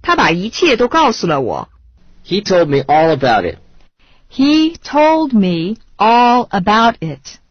他把一切都告诉了我。 He told me all about it. He told me all about it.